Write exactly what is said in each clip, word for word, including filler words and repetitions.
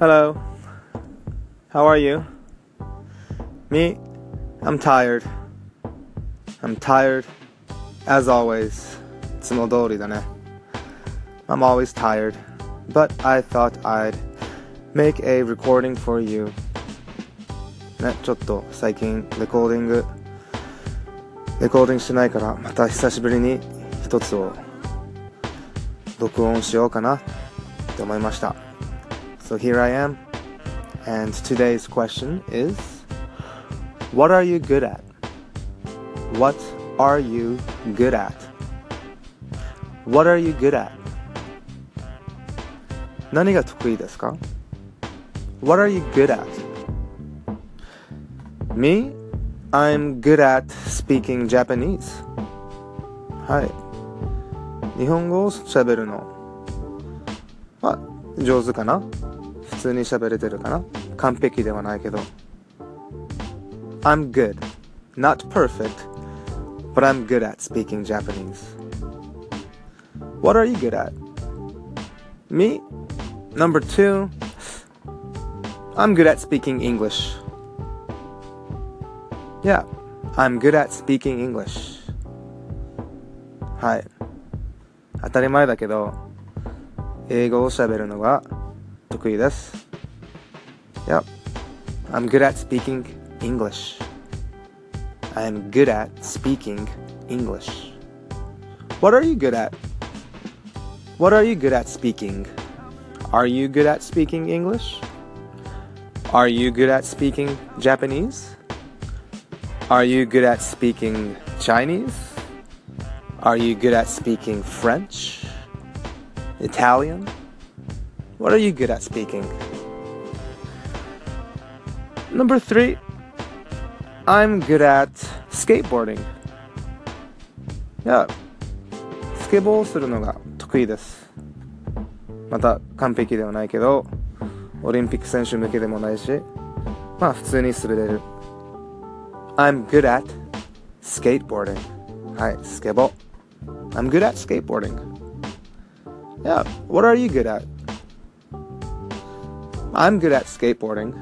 Hello. How are you? Me? I'm tired. I'm tired, as always. いつも通りだね。I'm always tired, but I thought I'd make a recording for you. ね、ちょっと最近レコーディング、レコーディングしてないからまた久しぶりに一つを録音しようかなって思いました。So here I am, and today's question is, what are you good at? What are you good at? What are you good at? 何が得意ですか？ What are you good at? Me? I'm good at speaking Japanese. はい。日本語を喋るのは上手かな？普通に喋れてるかな？完璧ではないけど。I'm good. Not perfect, but I'm good at speaking Japanese. What are you good at? Me? Number two, I'm good at speaking English. Yeah, I'm good at speaking English. はい。当たり前だけど、英語を喋るのが得意です。Yep, I'm good at speaking English. I'm good at speaking English. What are you good at? What are you good at speaking? Are you good at speaking English? Are you good at speaking Japanese? Are you good at speaking Chinese? Are you good at speaking French? Italian? What are you good at speaking? Number three, I'm good at skateboarding. Yeah, スケボーをするのが得意です。また完璧ではないけど、オリンピック選手向けでもないし、まあ普通に滑れる。I'm good at skateboarding. はい、スケボー。I'm good at skateboarding. Yeah, what are you good at? I'm good at skateboarding.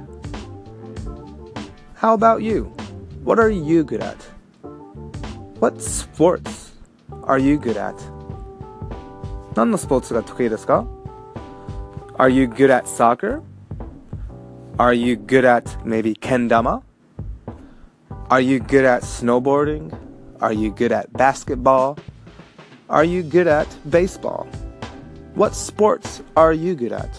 How about you? What are you good at? What sports are you good at? 何のスポーツが得意ですか？ Are you good at soccer? Are you good at maybe kendama? Are you good at snowboarding? Are you good at basketball? Are you good at baseball? What sports are you good at?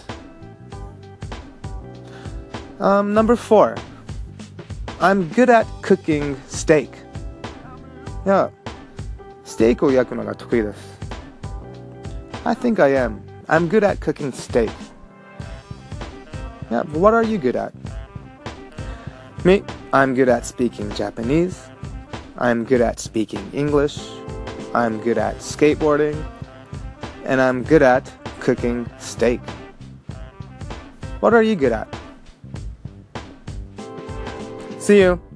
Um, number four, I'm good at cooking steak. Yeah, ステーキを焼くのが得意です。I think I am. I'm good at cooking steak. Yeah, but what are you good at? Me, I'm good at speaking Japanese. I'm good at speaking English. I'm good at skateboarding. And I'm good at cooking steak. What are you good at? See you.